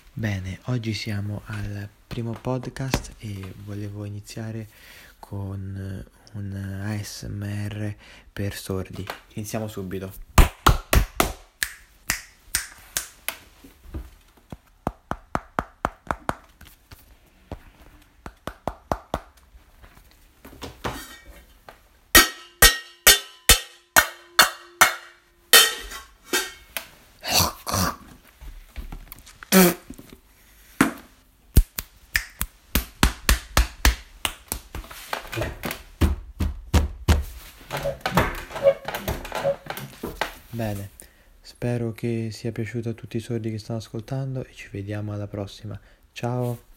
Bene, oggi siamo al primo podcast e volevo iniziare con un ASMR per sordi. Iniziamo subito. Bene, spero che sia piaciuto a tutti i sordi che stanno ascoltando e ci vediamo alla prossima. Ciao!